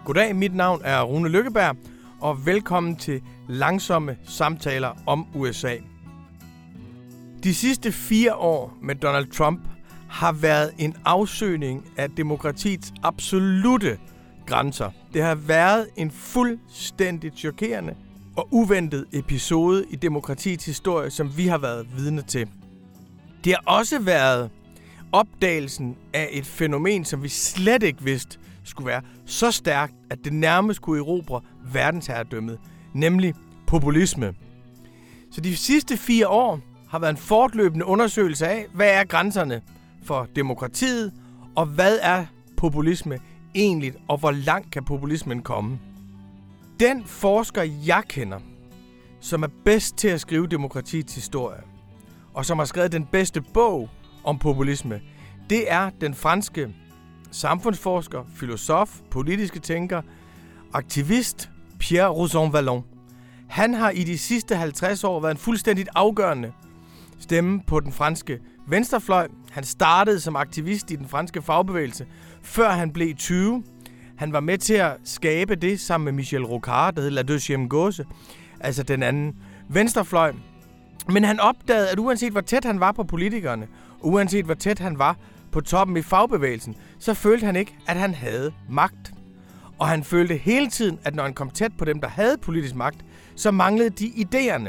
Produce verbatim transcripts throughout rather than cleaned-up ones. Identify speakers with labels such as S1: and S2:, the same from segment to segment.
S1: Goddag, mit navn er Rune Lykkeberg, og velkommen til Langsomme Samtaler om U S A. De sidste fire år med Donald Trump har været en afsøgning af demokratiets absolute grænser. Det har været en fuldstændigt chokerende og uventet episode i demokratiets historie, som vi har været vidne til. Det har også været opdagelsen af et fænomen, som vi slet ikke vidste skulle være så stærkt, at det nærmest kunne erobre verdensherredømmet, nemlig populisme. Så de sidste fire år har været en fortløbende undersøgelse af, hvad er grænserne for demokratiet, og hvad er populisme egentlig, og hvor langt kan populismen komme. Den forsker, jeg kender, som er bedst til at skrive demokratiets historie, og som har skrevet den bedste bog om populisme, det er den franske samfundsforsker, filosof, politiske tænker, aktivist Pierre Rosanvallon. Han har i de sidste halvtreds år været en fuldstændigt afgørende stemme på den franske venstrefløj. Han startede som aktivist i den franske fagbevægelse, før han blev tyve. Han var med til at skabe det sammen med Michel Rocard, der hed La Deuxième Gauche, altså den anden venstrefløj. Men han opdagede, at uanset hvor tæt han var på politikerne, uanset hvor tæt han var på toppen i fagbevægelsen, så følte han ikke, at han havde magt. Og han følte hele tiden, at når han kom tæt på dem, der havde politisk magt, så manglede de idéerne.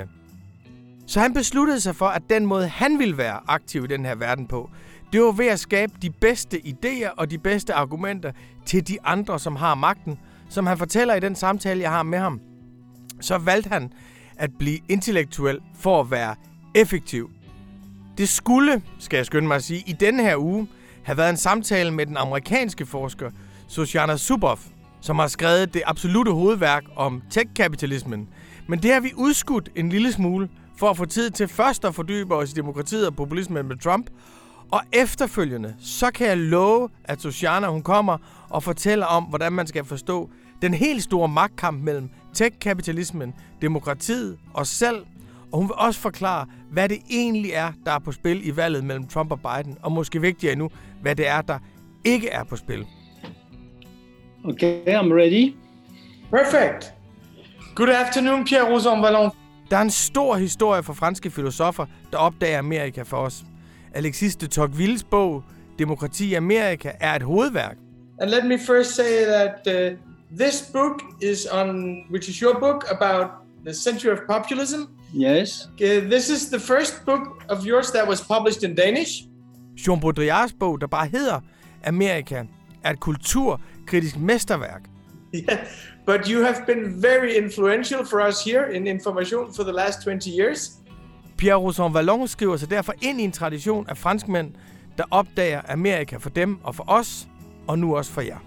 S1: Så han besluttede sig for, at den måde, han ville være aktiv i den her verden på, det var ved at skabe de bedste idéer og de bedste argumenter til de andre, som har magten. Som han fortæller i den samtale, jeg har med ham, så valgte han at blive intellektuel for at være effektiv. Det skulle, skal jeg skynde mig at sige, i denne her uge have været en samtale med den amerikanske forsker Shoshana Zuboff, som har skrevet det absolutte hovedværk om tech-kapitalismen. Men det har vi udskudt en lille smule for at få tid til først at fordybe os i demokratiet og populismen med Trump. Og efterfølgende, så kan jeg love, at Shoshana hun kommer og fortæller om, hvordan man skal forstå den helt store magtkamp mellem tech-kapitalismen, demokratiet og selv. Og hun vil også forklare, hvad det egentlig er, der er på spil i valget mellem Trump og Biden. Og måske vigtigere endnu, hvad det er, der ikke er på spil.
S2: Okay, I'm ready.
S1: Perfect. Good afternoon, Pierre Rosanvallon. Der er en stor historie for franske filosofer, der opdager Amerika for os. Alexis de Tocquevilles bog, Demokrati i Amerika, er et hovedværk.
S3: And let me first say that uh, this book is on, which is your book about the century of populism.
S2: Yes.
S3: Uh, this is the first book of yours that was published in Danish.
S1: Jean Baudrillards bog, der bare hedder Amerika, er et kulturkritisk mesterværk.
S3: Yeah, but you have been very influential for us here in Information for the last twenty years.
S1: Pierre Rosanvallon skriver sig derfor ind i en tradition af franskmænd, der opdager Amerika for dem og for os, og nu også for jer.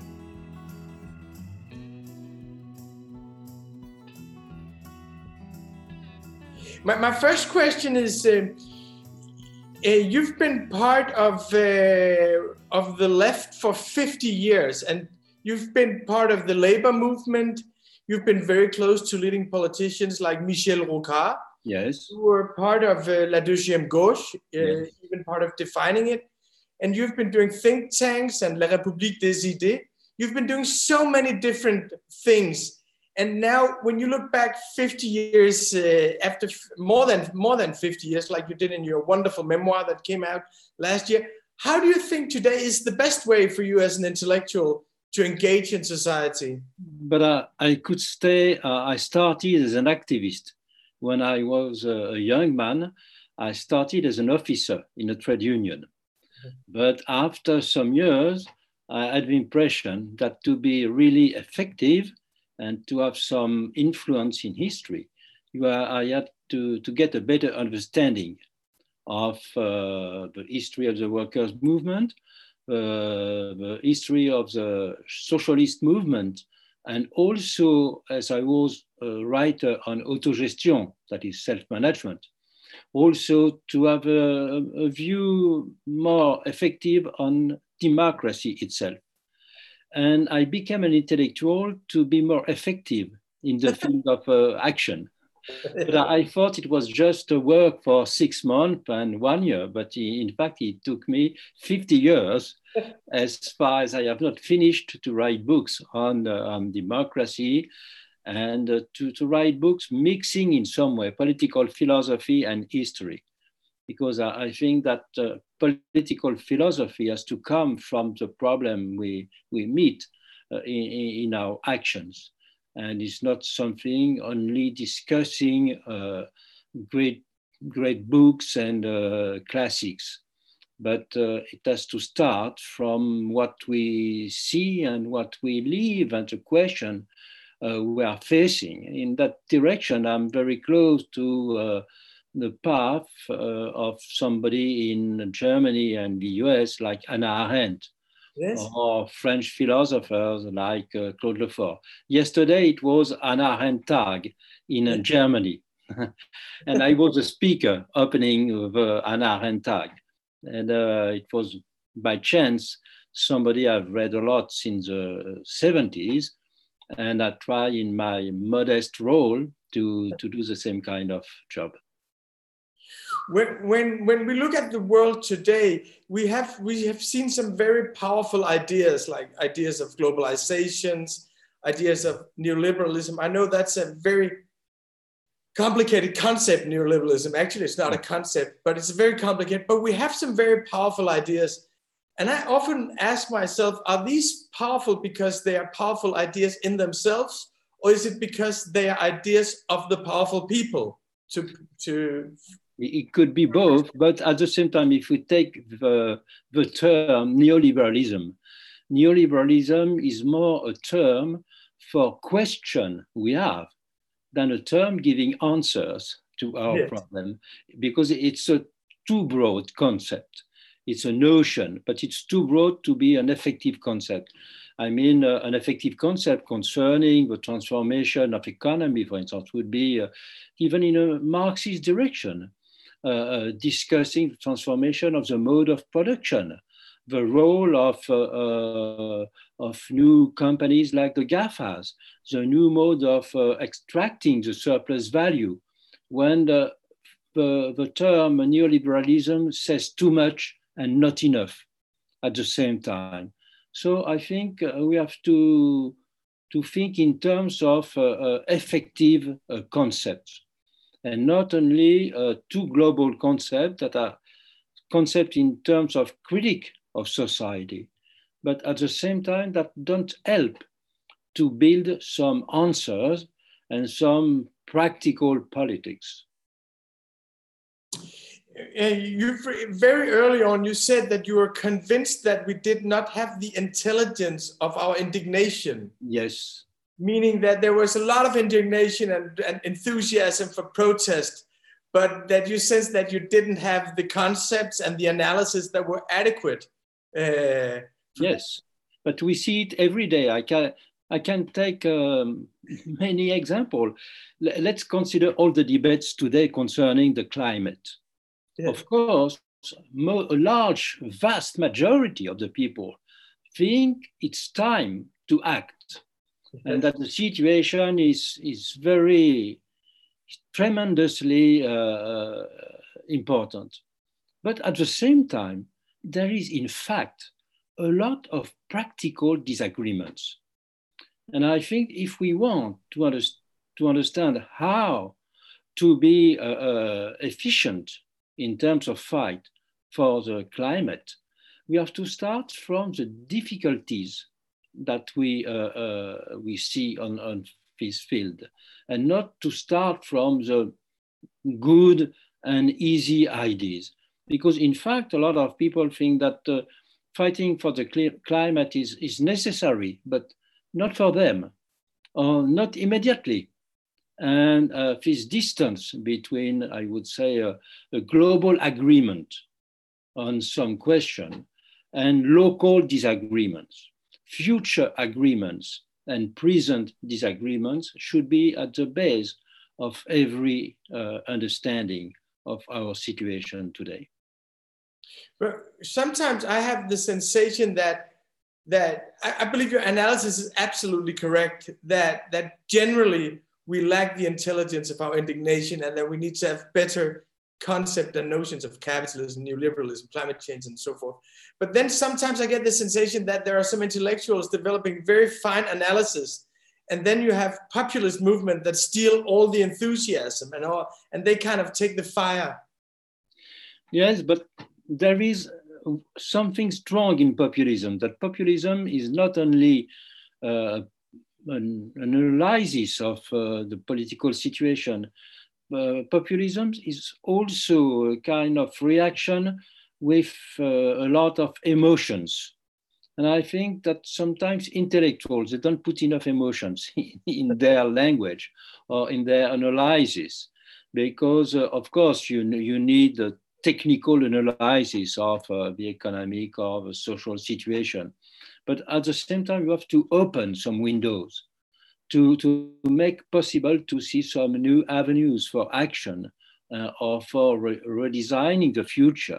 S3: My, my first question is, uh, uh, you've been part of uh, of the left for fifty years, and you've been part of the labor movement. You've been very close to leading politicians like Michel Rocard.
S2: Yes.
S3: You were part of uh, La Deuxième Gauche, uh,
S2: yes.
S3: even part of defining it. And you've been doing think tanks and La République des idées. You've been doing so many different things. And now, when you look back fifty years uh, after f- more than more than fifty years, like you did in your wonderful memoir that came out last year, how do you think today is the best way for you as an intellectual to engage in society?
S2: But uh, I could say uh, I started as an activist. When I was a young man, I started as an officer in a trade union. But after some years, I had the impression that to be really effective and to have some influence in history, you are, I had to, to get a better understanding of uh, the history of the workers' movement, uh, the history of the socialist movement, and also, as I was a writer on autogestion, that is self-management, also to have a, a view more effective on democracy itself. And I became an intellectual to be more effective in the field of uh, action. But I thought it was just a work for six months and one year, but in fact, it took me fifty years, as far as I have not finished to write books on, uh, on democracy, and uh, to, to write books mixing in some way political philosophy and history. Because I, I think that uh, political philosophy has to come from the problem we, we meet uh, in, in our actions. And it's not something only discussing uh, great, great books and uh, classics, but uh, it has to start from what we see and what we live and the question uh, we are facing. In that direction, I'm very close to uh, the path uh, of somebody in Germany and the U S like Hannah Arendt. Yes. Or French philosophers like uh, Claude Lefort. Yesterday it was Hannah Arendt Tag in uh, Germany. And I was a speaker opening of uh, Hannah Arendt Tag. And uh, it was by chance somebody I've read a lot since the seventies. And I try in my modest role to, to do the same kind of job.
S3: When, when, when we look at the world today, we have, we have seen some very powerful ideas, like ideas of globalizations, ideas of neoliberalism. I know that's a very complicated concept, neoliberalism. Actually, it's not a concept, but it's very complicated. But we have some very powerful ideas. And I often ask myself, are these powerful because they are powerful ideas in themselves? Or is it because they are ideas of the powerful people to, to
S2: It could be both, but at the same time, if we take the, the term neoliberalism, neoliberalism is more a term for question we have than a term giving answers to our yes. problem, because it's a too broad concept. It's a notion, but it's too broad to be an effective concept. I mean, uh, an effective concept concerning the transformation of economy, for instance, would be uh, even in a Marxist direction. Uh, uh, discussing the transformation of the mode of production, the role of, uh, uh, of new companies like the GAFAs, the new mode of uh, extracting the surplus value, when the, the, the term neoliberalism says too much and not enough at the same time. So I think uh, we have to, to think in terms of uh, uh, effective uh, concepts. And not only uh, two global concepts that are concepts in terms of critique of society, but at the same time that don't help to build some answers and some practical politics.
S3: Uh, you very early on, you said that you were convinced that we did not have the intelligence of our indignation.
S2: Yes.
S3: Meaning that there was a lot of indignation and, and enthusiasm for protest, but that you sensed that you didn't have the concepts and the analysis that were adequate. Uh,
S2: yes, but we see it every day. I can, I can take um, many examples. Let's consider all the debates today concerning the climate. Yeah. Of course, a large, vast majority of the people think it's time to act. And that the situation is, is very tremendously uh, important. But at the same time, there is in fact a lot of practical disagreements. And I think if we want to, under, to understand how to be uh, uh, efficient in terms of fight for the climate, we have to start from the difficulties that we, uh, uh, we see on, on this field, and not to start from the good and easy ideas. Because in fact, a lot of people think that uh, fighting for the climate is, is necessary, but not for them, or not immediately. And uh, this distance between, I would say, uh, a global agreement on some question and local disagreements, future agreements and present disagreements should be at the base of every uh, understanding of our situation today.
S3: But sometimes I have the sensation that that I, I believe your analysis is absolutely correct, that that generally we lack the intelligence of our indignation, and that we need to have better concept and notions of capitalism, neoliberalism, climate change, and so forth. But then sometimes I get the sensation that there are some intellectuals developing very fine analysis, and then you have populist movement that steal all the enthusiasm and all, and they kind of take the fire.
S2: Yes, but there is something strong in populism, that populism is not only uh, an, an analysis of uh, the political situation. Uh, populism is also a kind of reaction with uh, a lot of emotions. And I think that sometimes intellectuals, they don't put enough emotions in their language or in their analysis, because uh, of course you, you need a technical analysis of uh, the economic or the social situation. But at the same time, you have to open some windows to, to make possible to see some new avenues for action uh, or for re redesigning the future.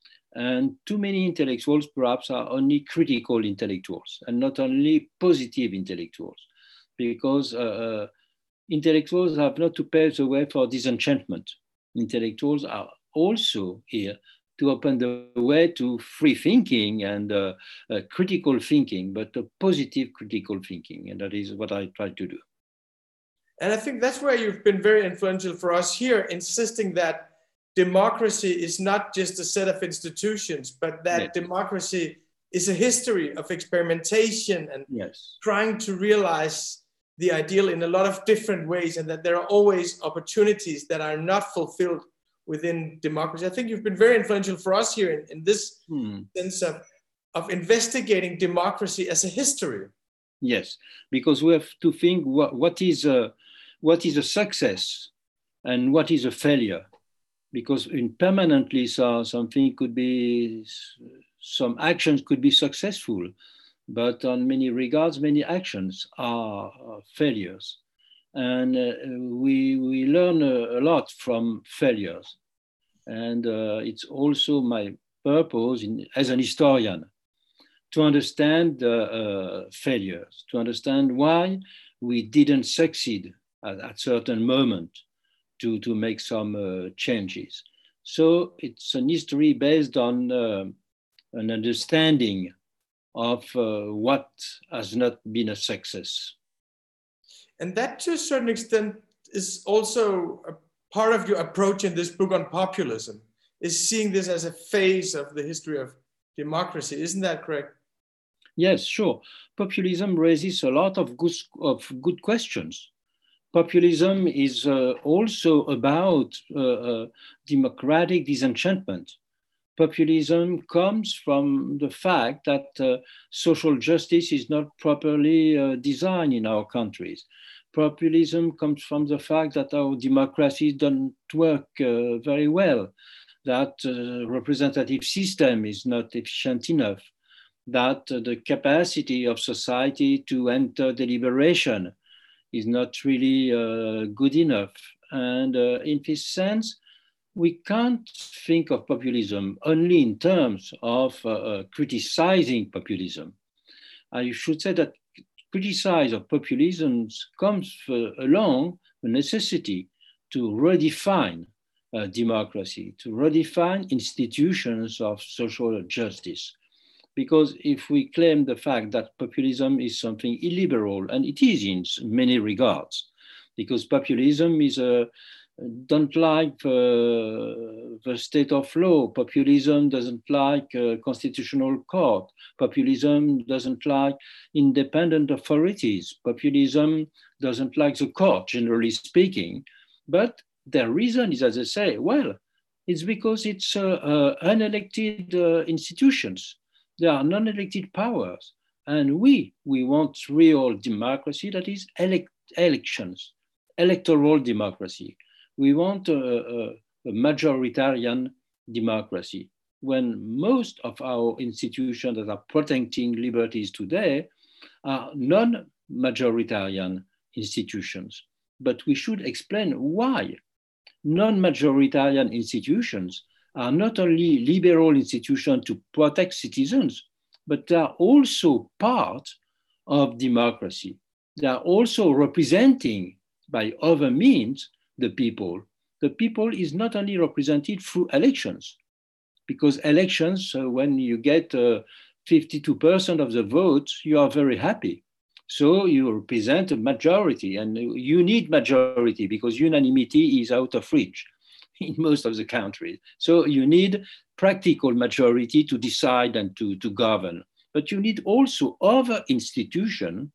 S2: And too many intellectuals perhaps are only critical intellectuals and not only positive intellectuals, because uh, uh, intellectuals have not to pave the way for disenchantment. Intellectuals are also here to open the way to free thinking and uh, uh, critical thinking, but a positive critical thinking. And that is what I try to do.
S3: And I think that's where you've been very influential for us here, insisting that democracy is not just a set of institutions, but that yes. democracy is a history of experimentation and
S2: yes.
S3: trying to realize the ideal in a lot of different ways, and that there are always opportunities that are not fulfilled within democracy. I think you've been very influential for us here in, in this hmm. sense of, of investigating democracy as a history.
S2: Yes, because we have to think what, what, is a, what is a success and what is a failure. Because in permanently so something could be, some actions could be successful, but on many regards, many actions are, are failures. And uh, we, we learn a, a lot from failures. And uh, it's also my purpose in, as an historian to understand uh, uh, failures, to understand why we didn't succeed at a certain moment to, to make some uh, changes. So it's an history based on uh, an understanding of uh, what has not been a success.
S3: And that, to a certain extent, is also a part of your approach in this book on populism, is seeing this as a phase of the history of democracy. Isn't that correct?
S2: Yes, sure. Populism raises a lot of good, of good questions. Populism is uh, also about uh, uh, democratic disenchantment. Populism comes from the fact that uh, social justice is not properly uh, designed in our countries. Populism comes from the fact that our democracy doesn't work uh, very well, that the uh, representative system is not efficient enough, that uh, the capacity of society to enter deliberation is not really uh, good enough. And uh, in this sense, we can't think of populism only in terms of uh, uh, criticizing populism. I should say that criticize of populism comes uh, along the necessity to redefine uh, democracy, to redefine institutions of social justice. Because if we claim the fact that populism is something illiberal, and it is in many regards, because populism is a don't like uh, the state of law. Populism doesn't like uh, constitutional court. Populism doesn't like independent authorities. Populism doesn't like the court, generally speaking. But the reason is, as I say, well, it's because it's uh, uh, unelected uh, institutions. There are non-elected powers. And we, we want real democracy, that is elect elections, electoral democracy. We want a, a, a majoritarian democracy, when most of our institutions that are protecting liberties today are non-majoritarian institutions. But we should explain why non-majoritarian institutions are not only liberal institutions to protect citizens, but they are also part of democracy. They are also representing by other means the people, the people is not only represented through elections, because elections, uh, when you get uh, fifty-two percent of the votes, you are very happy. So you represent a majority, and you need majority because unanimity is out of reach in most of the countries. So you need practical majority to decide and to, to govern. But you need also other institutions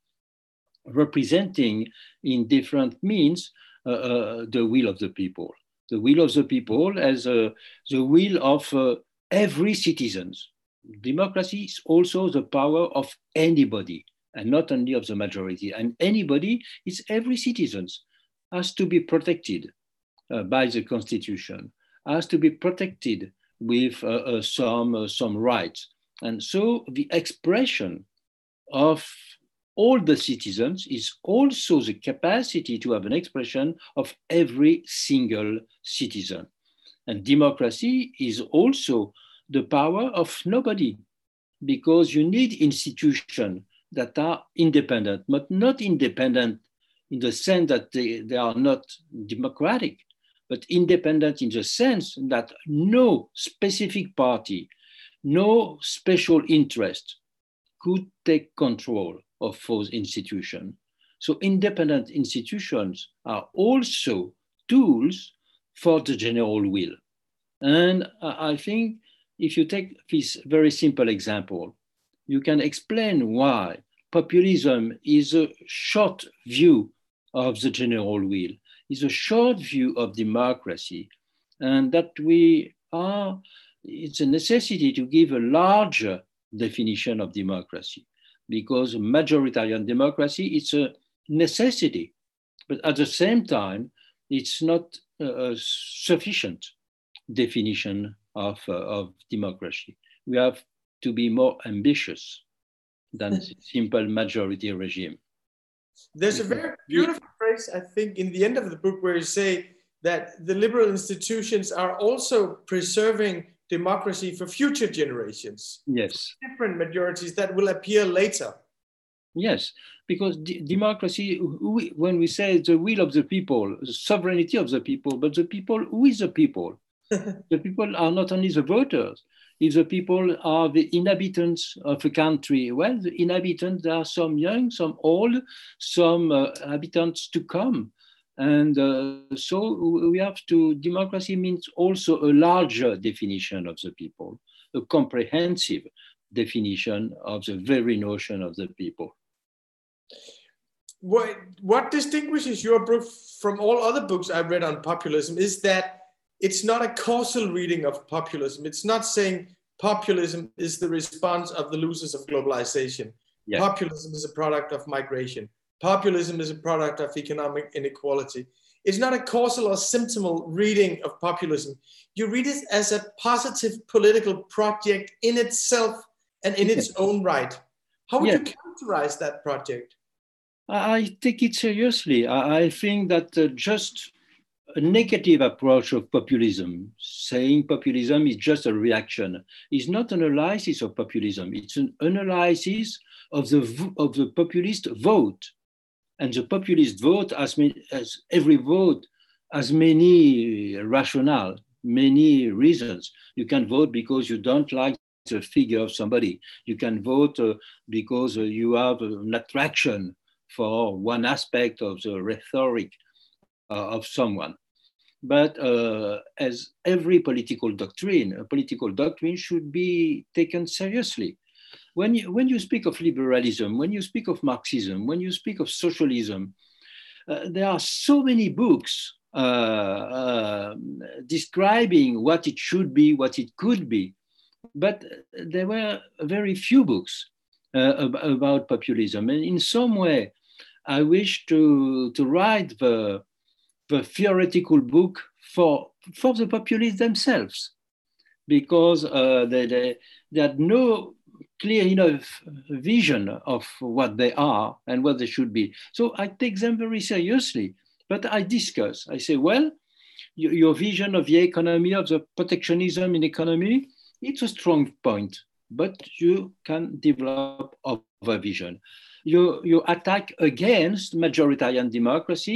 S2: representing in different means uh, uh, the will of the people. The will of the people as uh, the will of uh, every citizen. Democracy is also the power of anybody, and not only of the majority. And anybody is every citizen, has to be protected uh, by the Constitution, has to be protected with uh, uh, some, uh, some rights. And so the expression of all the citizens is also the capacity to have an expression of every single citizen. And democracy is also the power of nobody, because you need institutions that are independent, but not independent in the sense that they, they are not democratic, but independent in the sense that no specific party, no special interest could take control of those institutions. So independent institutions are also tools for the general will. And I think if you take this very simple example, you can explain why populism is a short view of the general will, is a short view of democracy, and that we are, it's a necessity to give a larger definition of democracy, because majoritarian democracy is a necessity, but at the same time, it's not a sufficient definition of, uh, of democracy. We have to be more ambitious than simple majority regime.
S3: There's a very beautiful phrase, I think, in the end of the book where you say that the liberal institutions are also preserving democracy for future generations.
S2: Yes.
S3: Different majorities that will appear later.
S2: Yes, because d- democracy, we, when we say the will of the people, the sovereignty of the people, but the people, who is the people? The people are not only the voters. If the people are the inhabitants of a country, well, the inhabitants, there are some young, some old, some uh, inhabitants to come. And uh, so we have to, democracy means also a larger definition of the people, a comprehensive definition of the very notion of the people.
S3: What, what distinguishes your book from all other books I've read on populism is that it's not a causal reading of populism. It's not saying populism is the response of the losers of globalization. Yeah. Populism is a product of migration. Populism is a product of economic inequality. It's not a causal or symptomal reading of populism. You read it as a positive political project in itself and in its own right. How would yeah. you characterize that project?
S2: I take it seriously. I think that uh, just a negative approach of populism, saying populism is just a reaction, is not an analysis of populism. It's an analysis of the, of the populist vote. And the populist vote, as, many, as every vote, has many rationale, many reasons. You can vote because you don't like the figure of somebody. You can vote uh, because uh, you have an attraction for one aspect of the rhetoric uh, of someone. But uh, as every political doctrine, a political doctrine should be taken seriously. When you, when you speak of liberalism, when you speak of Marxism, when you speak of socialism, uh, there are so many books uh, uh, describing what it should be, what it could be, but there were very few books uh, ab- about populism. And in some way, I wish to, to write the, the theoretical book for, for the populists themselves, because uh, they, they, they had no clear enough vision of what they are and what they should be. So I take them very seriously, but I discuss. I say, well, your, your vision of the economy, of the protectionism in economy, it's a strong point, but you can develop other vision. You, you attack against majoritarian democracy,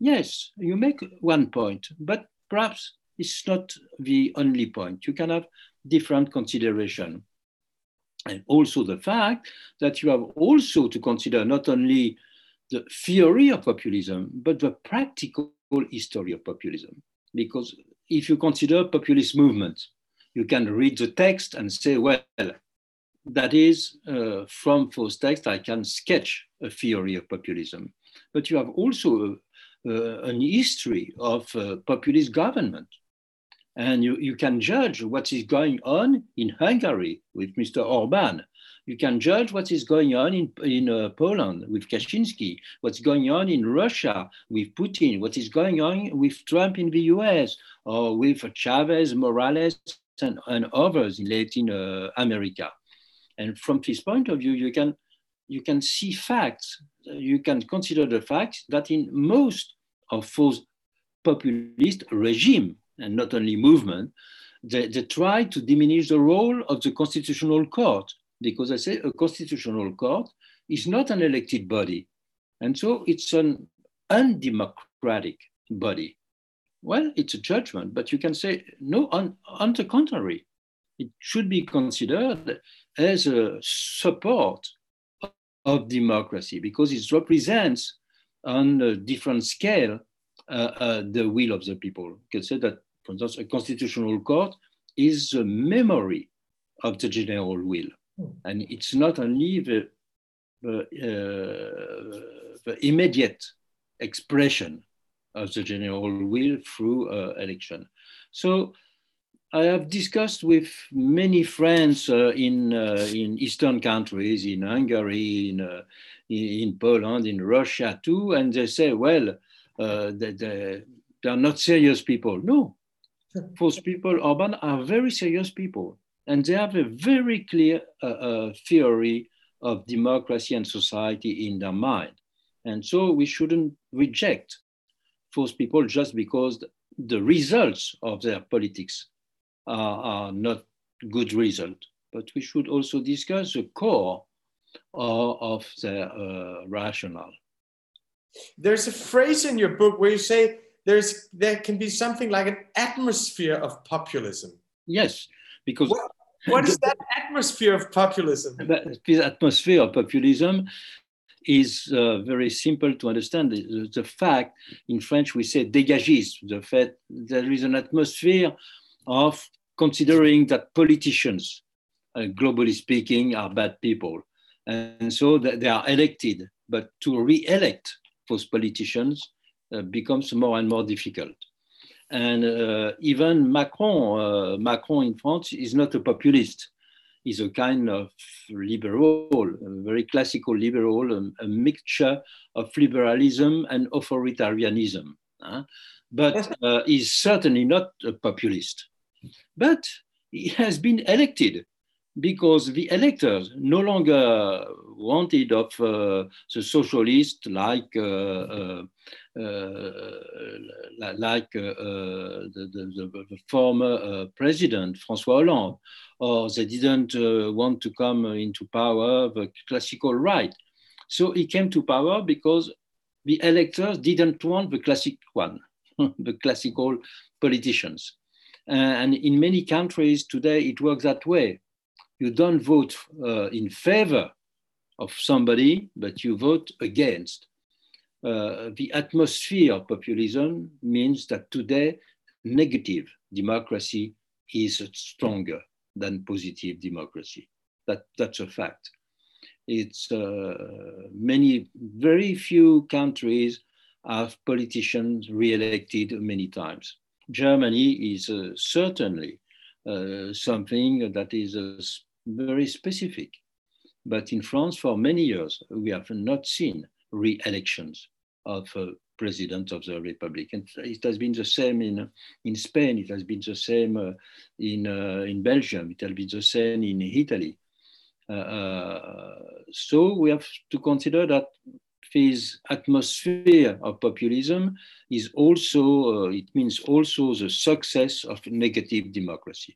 S2: Yes, you make one point, but perhaps it's not the only point. You can have different consideration. And also the fact that you have also to consider not only the theory of populism, but the practical history of populism. Because if you consider populist movements, you can read the text and say, well, that is, uh, from those texts, I can sketch a theory of populism. But you have also uh, an history of uh, populist government. And you, you can judge what is going on in Hungary with Mister Orbán. You can judge what is going on in, in uh, Poland with Kaczynski, what's going on in Russia with Putin, what is going on with Trump in the U S, or with Chavez, Morales, and, and others in Latin uh, America. And from this point of view, you can, you can see facts. You can consider the facts that in most of those populist regimes, and not only movement, they, they try to diminish the role of the constitutional court, because I say a constitutional court is not an elected body. And so it's an undemocratic body. Well, it's a judgment, but you can say, no, on, on the contrary, it should be considered as a support of democracy, because it represents on a different scale uh, uh, the will of the people. You can say that, for instance, a constitutional court is the memory of the general will. And it's not only the, the, uh, the immediate expression of the general will through uh, election. So I have discussed with many friends uh, in, uh, in Eastern countries, in Hungary, in, uh, in Poland, in Russia too, and they say, well, uh, they, they, they are not serious people. No, those people, Orbán, are very serious people. And they have a very clear uh, uh, theory of democracy and society in their mind. And so we shouldn't reject those people just because the results of their politics are, are not good results. But we should also discuss the core of, of their uh, rationale.
S3: There's a phrase in your book where you say there's, there can be something like an atmosphere of populism.
S2: Yes. Because
S3: what, what is that atmosphere of populism?
S2: This atmosphere of populism is uh, very simple to understand. The, the fact, in French we say dégagisme, the fact there is an atmosphere of considering that politicians, uh, globally speaking, are bad people. And so that they are elected, but to re-elect those politicians uh, becomes more and more difficult. And uh, even Macron, uh, Macron in France is not a populist. He's a kind of liberal, a very classical liberal, a, a mixture of liberalism and authoritarianism. Huh? But uh, he's certainly not a populist. But he has been elected because the electors no longer wanted of uh, the socialist like uh, uh, uh, like uh, uh, the, the, the former uh, president François Hollande, or they didn't uh, want to come into power the classical right. So he came to power because the electors didn't want the classic one, the classical politicians. And in many countries today, it works that way. You don't vote uh, in favor of somebody, but you vote against. Uh, the atmosphere of populism means that today, negative democracy is stronger than positive democracy. That, that's a fact. It's uh, many, very few countries have politicians re-elected many times. Germany is uh, certainly uh, something that is uh, very specific. But in France, for many years, we have not seen re-elections of uh, president of the Republic. And it has been the same in, in Spain, it has been the same uh, in, uh, in Belgium, it has been the same in Italy. Uh, uh, so we have to consider that this atmosphere of populism is also, uh, it means also the success of negative democracy.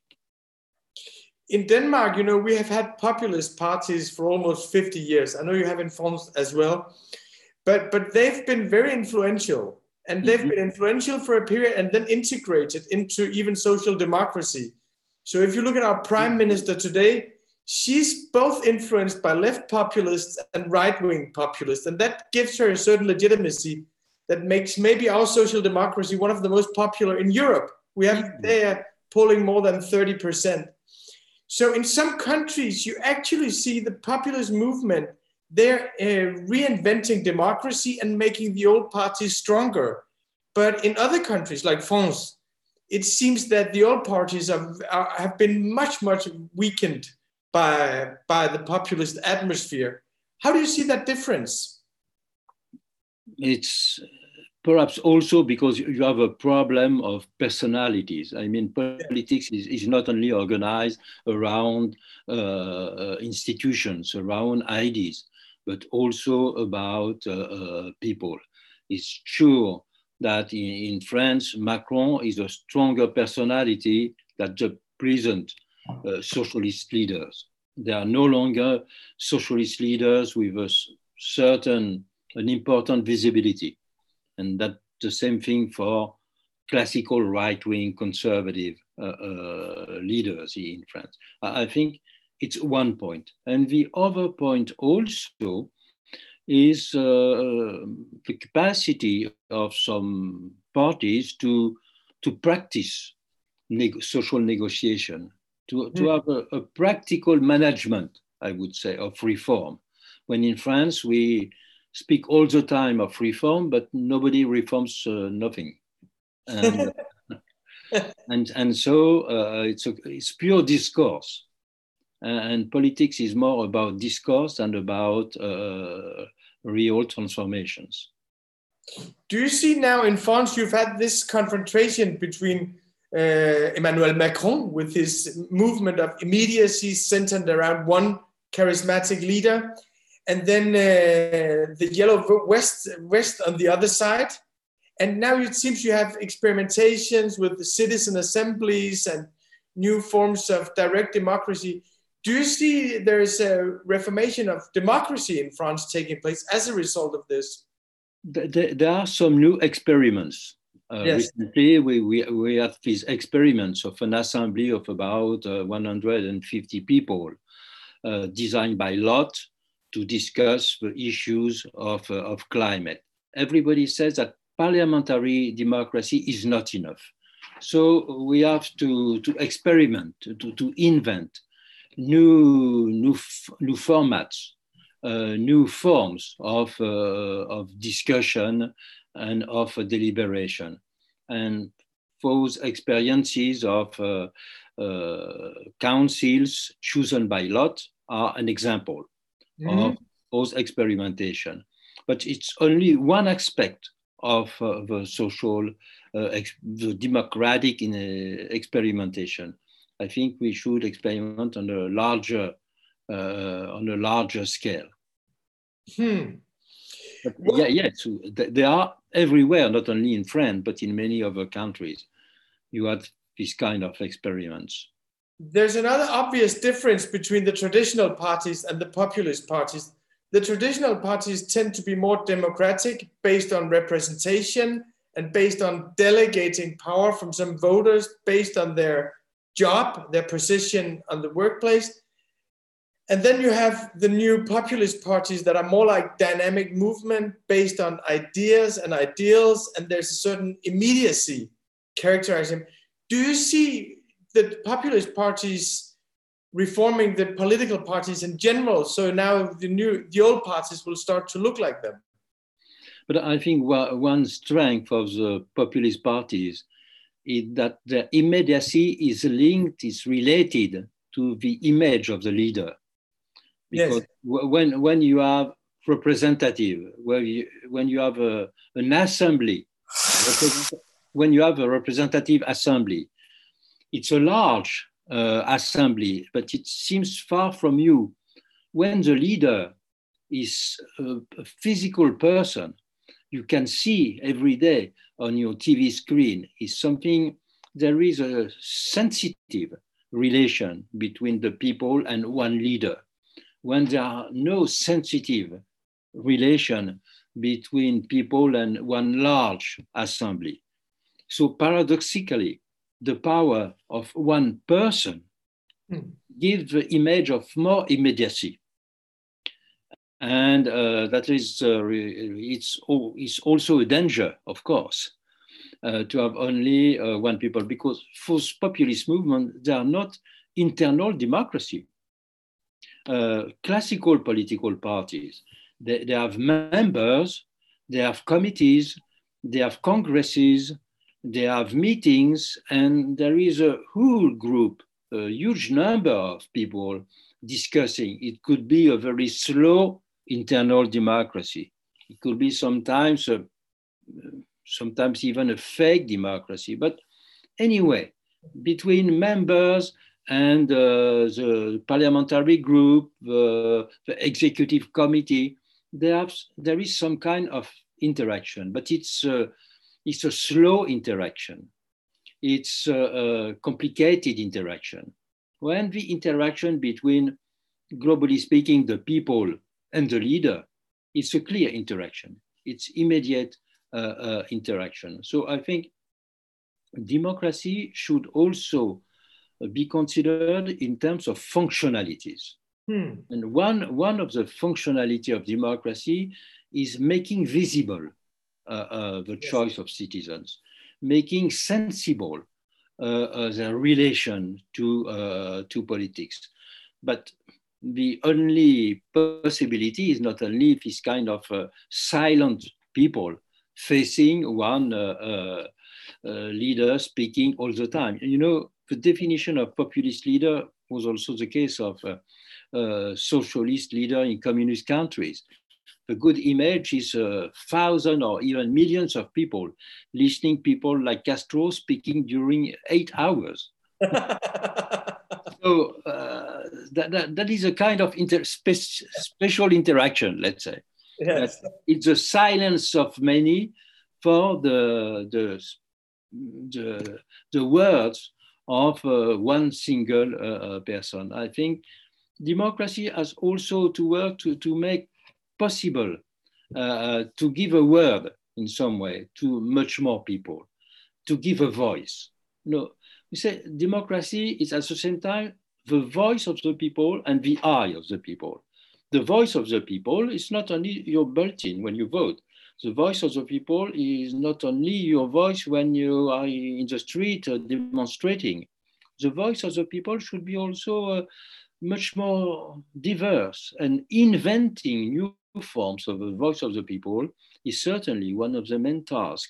S3: In Denmark, you know, we have had populist parties for almost fifty years. I know you have in France as well, but, but they've been very influential. and they've been influential for a period and then integrated into even social democracy. So if you look at our prime minister today, she's both influenced by left populists and right-wing populists, and that gives her a certain legitimacy that makes maybe our social democracy one of the most popular in Europe. We have there polling more than thirty percent. So in some countries, you actually see the populist movement, they're uh, reinventing democracy and making the old parties stronger. But in other countries like France, it seems that the old parties are, are, have been much, much weakened by, by the populist atmosphere. How do you see that difference?
S2: It's perhaps also because you have a problem of personalities. I mean, politics is, is not only organized around uh, institutions, around ideas, but also about uh, uh, people. It's true that in, in France, Macron is a stronger personality than the present uh, socialist leaders. They are no longer socialist leaders with a certain, an important visibility. And that's the same thing for classical right-wing conservative uh, uh, leaders in France. I think it's one point. And the other point also is uh, the capacity of some parties to, to practice neg- social negotiation, to, to have a, a practical management, I would say, of reform. When in France, we speak all the time of reform, but nobody reforms uh, nothing. And, and, and so uh, it's, a, it's pure discourse. And politics is more about discourse and about uh, real transformations.
S3: Do you see now in France, you've had this confrontation between uh, Emmanuel Macron with his movement of immediacy centered around one charismatic leader, and then uh, the yellow West, West on the other side. And now it seems you have experimentations with the citizen assemblies and new forms of direct democracy. Do you see there's a reformation of democracy in France taking place as a result of this?
S2: There, there are some new experiments. Uh, yes. Recently, we, we, we had these experiments of an assembly of about uh, one hundred fifty people uh, designed by lot to discuss the issues of, uh, of climate. Everybody says that parliamentary democracy is not enough. So we have to, to experiment, to, to invent new, new, new formats, uh, new forms of, uh, of discussion and of uh, deliberation. And those experiences of uh, uh, councils chosen by lot are an example mm-hmm. of those experimentation. But it's only one aspect of uh, the social, uh, ex- the democratic in, uh, experimentation. I think we should experiment on a larger, uh, on a larger scale.
S3: Hmm.
S2: But yeah, yes, they are everywhere, not only in France, but in many other countries. You had this kind of experiments.
S3: There's another obvious difference between the traditional parties and the populist parties. The traditional parties tend to be more democratic, based on representation and based on delegating power from some voters based on their job, their position on the workplace. And then you have the new populist parties that are more like dynamic movement based on ideas and ideals, and there's a certain immediacy characterizing. Do you see the populist parties reforming the political parties in general? So now the new, the old parties will start to look like them.
S2: But I think one strength of the populist parties is that the immediacy is linked, is related to the image of the leader. Because yes. when, when you have representative, where you, when you have a, an assembly, when you have a representative assembly, it's a large uh, assembly, but it seems far from you. When the leader is a, a physical person, you can see every day on your T V screen is something, there is a sensitive relation between the people and one leader. When there are no sensitive relation, between people and one large assembly. So paradoxically, the power of one person mm. gives the image of more immediacy. And uh, that is, uh, it's, it's also a danger, of course, uh, to have only uh, one people, because for populist movements, they are not internal democracy. Uh, classical political parties, they, they have members, they have committees, they have congresses, they have meetings, and there is a whole group, a huge number of people discussing. It could be a very slow internal democracy. It could be sometimes, a, sometimes even a fake democracy. But anyway, between members and uh, the parliamentary group, uh, the executive committee, there, have, there is some kind of interaction, but it's, uh, it's a slow interaction. It's a, a complicated interaction. When the interaction between, globally speaking, the people and the leader, it's a clear interaction. It's immediate uh, uh, interaction. So I think democracy should also be considered in terms of functionalities. Hmm. And one, one of the functionality of democracy is making visible uh, uh, the yes. choice of citizens, making sensible uh, uh, their relation to, uh, to politics. But the only possibility is not only this kind of uh, silent people facing one uh, uh, uh, leader speaking all the time. You know, the definition of populist leader was also the case of uh, uh, socialist leader in communist countries. The good image is a thousand or even millions of people listening, people like Castro speaking during eight hours. So uh, that, that, that is a kind of inter spe special interaction, let's say.
S3: Yes.
S2: It's the silence of many for the, the, the, the words of uh, one single uh, person. I think democracy has also to work to, to make possible uh, to give a word in some way to much more people, to give a voice. No, we say democracy is at the same time the voice of the people and the eye of the people. The voice of the people is not only your bulletin when you vote. The voice of the people is not only your voice when you are in the street uh, demonstrating. The voice of the people should be also uh, much more diverse, and inventing new forms of the voice of the people is certainly one of the main tasks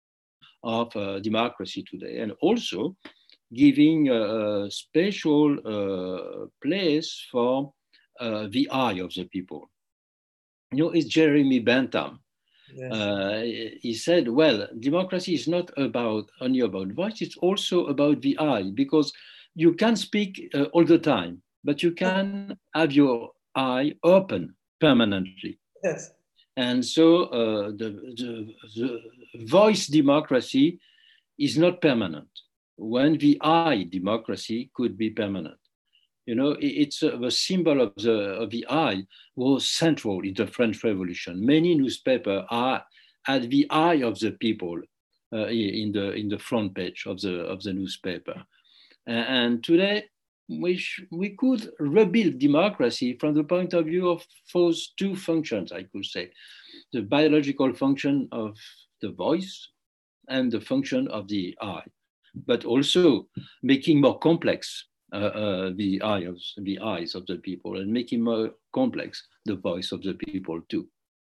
S2: of uh, democracy today, and also giving a, a special uh, place for uh, the eye of the people. You know, it's Jeremy Bentham. Yes. Uh, he said, well, democracy is not about only about voice, it's also about the eye, because you can speak uh, all the time, but you can have your eye open permanently.
S3: Yes.
S2: And so uh, the, the, the voice democracy is not permanent, when the eye democracy could be permanent. You know, it's uh, the symbol of the, of the eye was central in the French Revolution. Many newspapers are at the eye of the people uh, in, the, in the front page of the, of the newspaper. And today, we, we could rebuild democracy from the point of view of those two functions, I could say. The biological function of the voice and the function of the eye, but also making more complex uh, uh, the, eye of, the eyes of the people, and making more complex the voice of the people too.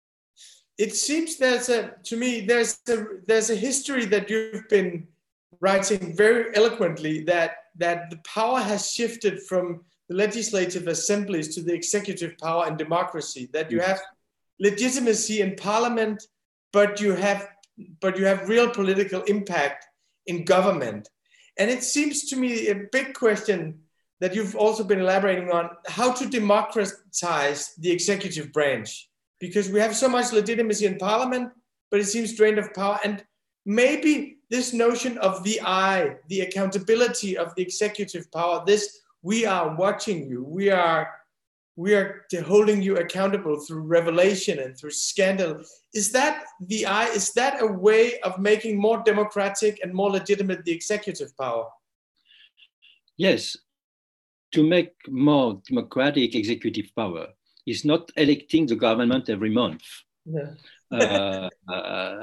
S3: It seems there's a, to me, there's a, there's a history that you've been writing very eloquently, that, that the power has shifted from the legislative assemblies to the executive power in democracy, that you have legitimacy in parliament, but you have, but you have real political impact in government. And it seems to me a big question that you've also been elaborating on, how to democratize the executive branch, because we have so much legitimacy in parliament, but it seems drained of power. And maybe this notion of the eye, the accountability of the executive power, this, we are watching you, we are, we are holding you accountable through revelation and through scandal. Is that the is that a way of making more democratic and more legitimate the executive power?
S2: Yes, to make more democratic executive power is not electing the government every month.
S3: No.
S2: uh, uh,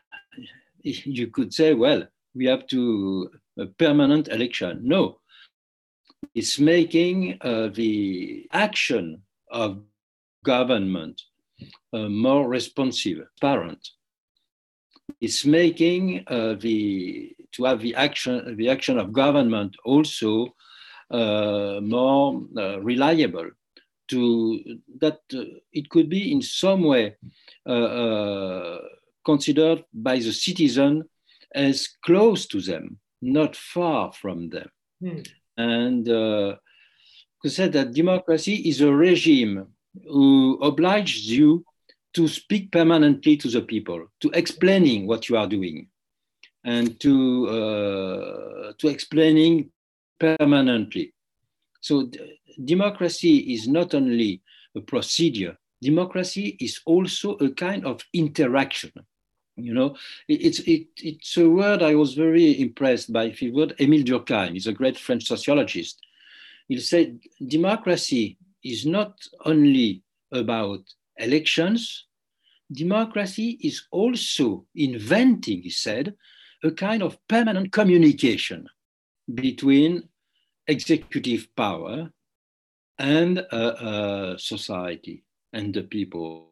S2: you could say, well, we have to a permanent election. No, it's making uh, the action of government uh, more responsive, transparent. It's making uh, the to have the action the action of government also uh, more uh, reliable. To that uh, it could be in some way uh, uh, considered by the citizen as close to them, not far from them.
S3: Hmm.
S2: And uh, to say that democracy is a regime who obliges you to speak permanently to the people, to explaining what you are doing, and to uh, to explaining permanently. So d- democracy is not only a procedure. Democracy is also a kind of interaction. You know, it, it's it, it's a word I was very impressed by. The word Émile Durkheim, he's a great French sociologist. He said democracy is not only about elections. Democracy is also inventing, he said, a kind of permanent communication between executive power and uh, uh, society and the people.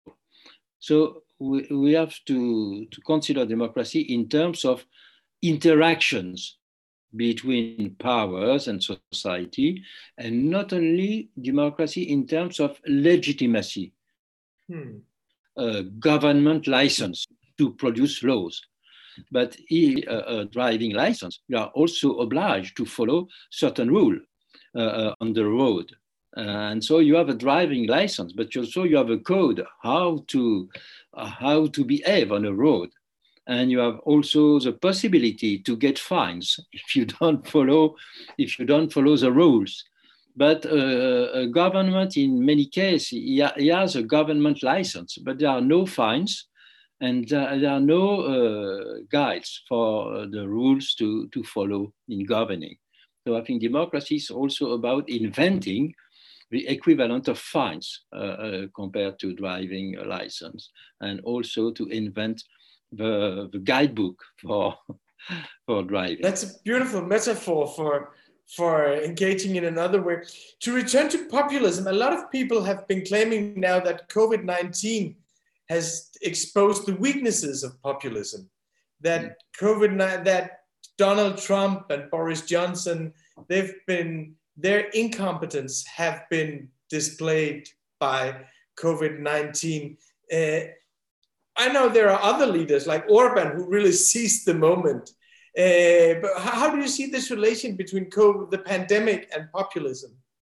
S2: So we, we have to, to consider democracy in terms of interactions between powers and society, and not only democracy in terms of legitimacy,
S3: Hmm.
S2: uh, government license to produce laws. But in a, a driving license, you are also obliged to follow certain rule uh, uh, on the road. Uh, and so you have a driving license, but also you have a code how to uh, how to behave on a road. And you have also the possibility to get fines if you don't follow if you don't follow the rules. But uh, a government, in many cases, he, ha- he has a government license, but there are no fines. And uh, there are no uh, guides for uh, the rules to, to follow in governing. So I think democracy is also about inventing the equivalent of fines uh, uh, compared to driving a license, and also to invent the, the guidebook for, for driving.
S3: That's a beautiful metaphor for, for engaging in another way. To return to populism, a lot of people have been claiming now that COVID nineteen has exposed the weaknesses of populism, that COVID, that Donald Trump and Boris Johnson, they've been, their incompetence have been displayed by COVID nineteen. Uh, I know there are other leaders like Orban who really seized the moment. Uh, but how do you see this relation between COVID, the pandemic, and populism?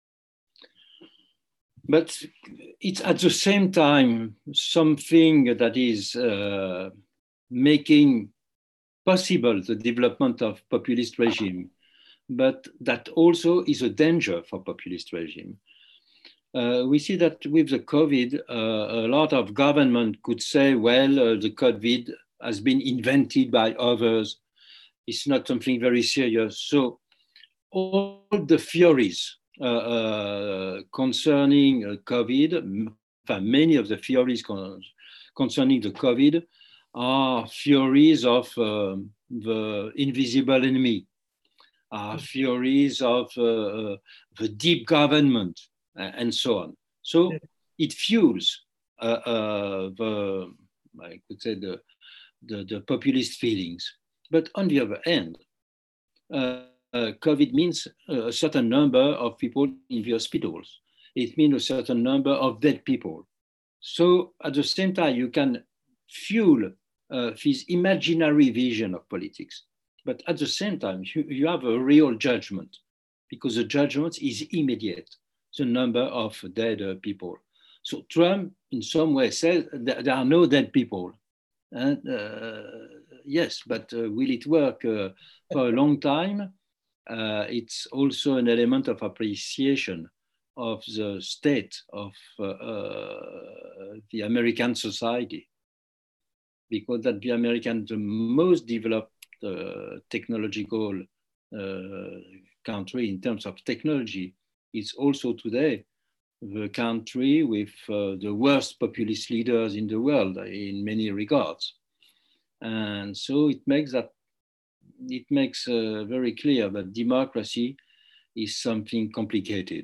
S2: But it's at the same time something that is uh, making possible the development of populist regime, but that also is a danger for populist regime. Uh, we see that with the COVID, uh, a lot of government could say, well, uh, the COVID has been invented by others. It's not something very serious. So all the theories uh, uh, concerning uh, COVID, many of the theories con concerning the COVID are theories of uh, the invisible enemy, are theories of uh, the deep government, and so on. So it fuels uh, uh, the, I could say, the, the, the populist feelings. But on the other hand, uh, uh, COVID means a certain number of people in the hospitals. It means a certain number of dead people. So at the same time, you can fuel uh, this imaginary vision of politics. But at the same time, you, you have a real judgment, because the judgment is immediate, the number of dead uh, people. So Trump, in some way, says that there are no dead people. And uh, yes, but uh, will it work uh, for a long time? Uh, it's also an element of appreciation of the state of uh, uh, the American society, because that the American, the most developed uh, technological uh, country in terms of technology, is also today the country with uh, the worst populist leaders in the world in many regards. And so it makes that it makes uh, very clear that democracy is something complicated.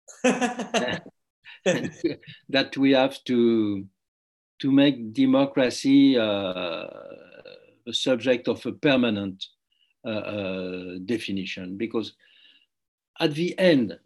S2: And that we have to, to make democracy uh, a subject of a permanent uh, uh, definition, because at the end,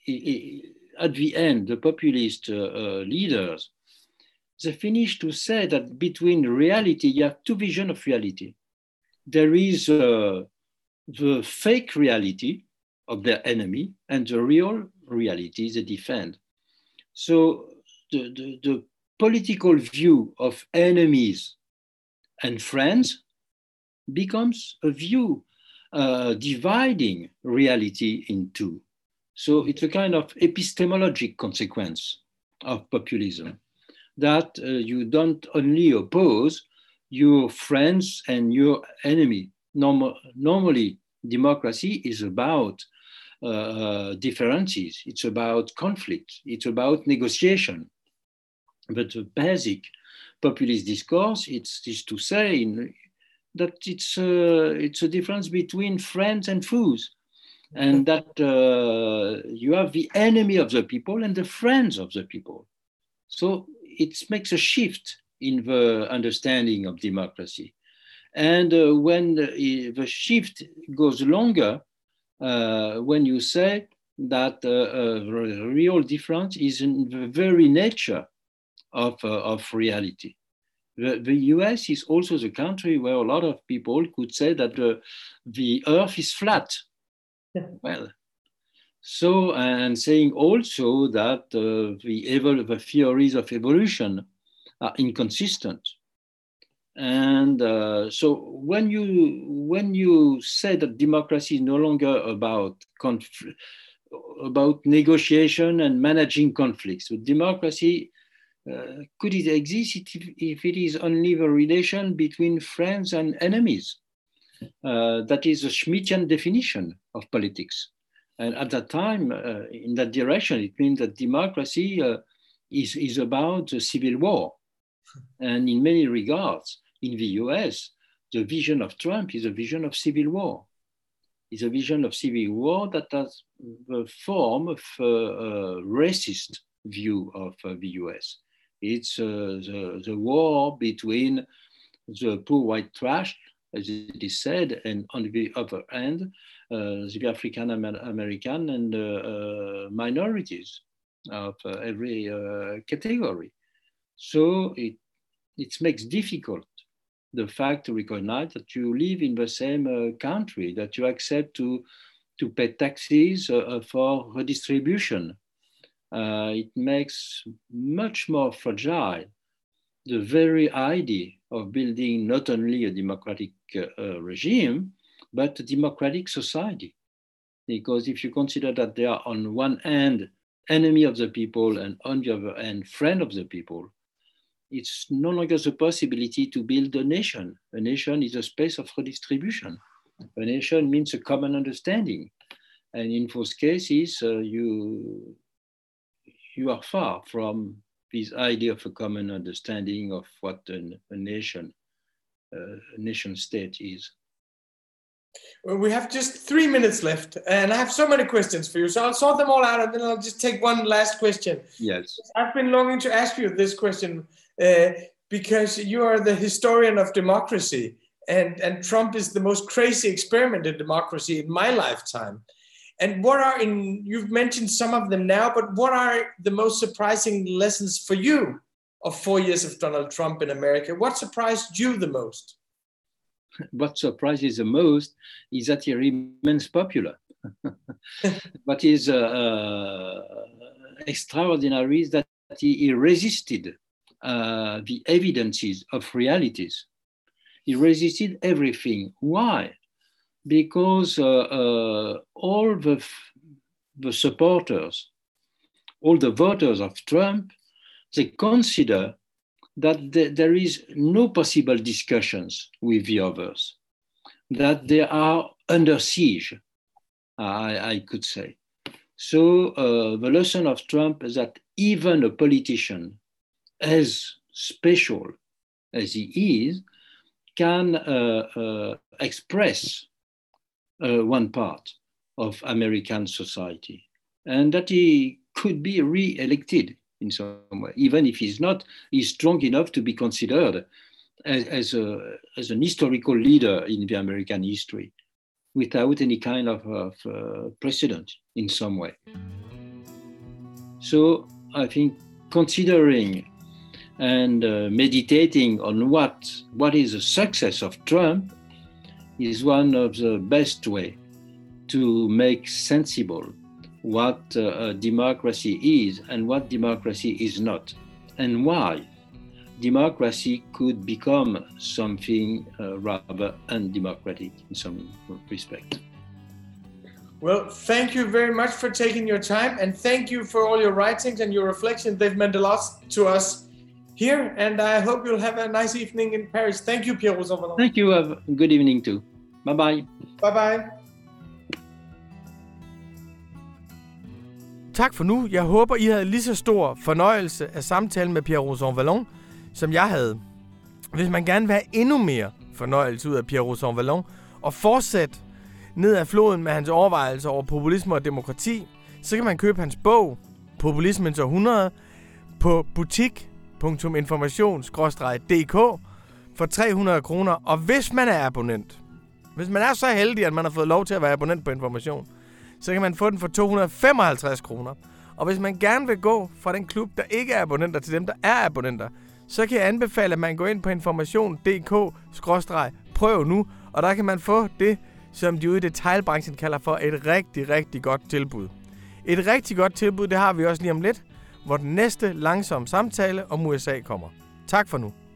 S2: at the end, the populist uh, uh, leaders, they finish to say that between reality, you have two visions of reality. There is uh, the fake reality of their enemy and the real reality they defend. So the, the, the political view of enemies and friends becomes a view uh, dividing reality in two. So it's a kind of epistemologic consequence of populism, that uh, you don't only oppose your friends and your enemy. Norm- normally, democracy is about uh, differences, it's about conflict, it's about negotiation. But the basic populist discourse it's, is to say in, that it's, uh, it's a difference between friends and foes, and that uh, you have the enemy of the people and the friends of the people. So it makes a shift in the understanding of democracy. And uh, when the, the shift goes longer, uh, when you say that uh, uh, the real difference is in the very nature of, uh, of reality. The, the U S is also the country where a lot of people could say that the, the earth is flat. Well, so, and saying also that uh, the, evol- the theories of evolution are inconsistent. And uh, so when you, when you say that democracy is no longer about, conf- about negotiation and managing conflicts, but democracy, uh, could it exist if, if it is only the relation between friends and enemies? Uh, that is a Schmittian definition of politics. And at that time, uh, in that direction, it means that democracy uh, is, is about a civil war. And in many regards, in the U S, the vision of Trump is a vision of civil war. It's a vision of civil war that has the form of a, a racist view of uh, the U S. It's uh, the, the war between the poor white trash, as it is said, and on the other hand, uh, the African American and uh, uh, minorities of uh, every uh, category. So it, it makes difficult the fact to recognize that you live in the same uh, country, that you accept to, to pay taxes uh, for redistribution. Uh, it makes much more fragile the very idea of building not only a democratic uh, regime, but a democratic society. Because if you consider that they are on one hand enemy of the people and on the other hand friend of the people, it's no longer the possibility to build a nation. A nation is a space of redistribution. A nation means a common understanding. And in those cases, uh, you, you are far from this idea of a common understanding of what an, a nation, uh, a nation state is.
S3: Well, we have just three minutes left, and I have so many questions for you. So I'll sort them all out, and then I'll just take one last question.
S2: Yes.
S3: I've been longing to ask you this question uh, because you are the historian of democracy, and, and Trump is the most crazy experiment in democracy in my lifetime. And what are, in, you've mentioned some of them now, but what are the most surprising lessons for you of four years of Donald Trump in America? What surprised you the most?
S2: What surprises the most is that he remains popular. What is uh, uh, extraordinary is that he, he resisted uh, the evidences of realities. He resisted everything. Why? Because uh, uh, all the, the supporters all the voters of Trump, they consider that th- there is no possible discussions with the others, that they are under siege, I, I could say. So uh, the lesson of Trump is that even a politician as special as he is can uh, uh, express uh, one part of American society, and that he could be re-elected in some way, even if he's not, he's strong enough to be considered as, as, a, as an historical leader in the American history without any kind of, of uh, precedent in some way. So I think considering and uh, meditating on what, what is the success of Trump is one of the best way to make sensible what uh, democracy is and what democracy is not, and why democracy could become something uh, rather undemocratic in some respect.
S3: Well, thank you very much for taking your time, and thank you for all your writings and your reflections. They've meant a lot to us here, and I hope you'll have a nice evening in Paris. Thank you, Pierre Rosanvallon.
S2: Thank you. Have a good evening too. Bye-bye.
S3: Bye-bye.
S1: Tak for nu. Jeg håber, I havde lige så stor fornøjelse af samtalen med Pierre Rosanvallon, som jeg havde. Hvis man gerne vil have endnu mere fornøjelse ud af Pierre Rosanvallon, og fortsætte ned ad floden med hans overvejelser over populisme og demokrati, så kan man købe hans bog, Populismens århundrede, på butik punktum information skråstreg d k for tre hundrede kroner. Og hvis man er abonnent, hvis man er så heldig, at man har fået lov til at være abonnent på Information, så kan man få den for to hundrede og femoghalvtreds kroner. Og hvis man gerne vil gå fra den klub, der ikke er abonnenter, til dem, der er abonnenter, så kan jeg anbefale, at man går ind på information punktum d k skråstreg prøv nu, og der kan man få det, som de ude i detailbranchen kalder for et rigtig, rigtig godt tilbud. Et rigtig godt tilbud, det har vi også lige om lidt, hvor den næste langsomme samtale om U S A kommer. Tak for nu.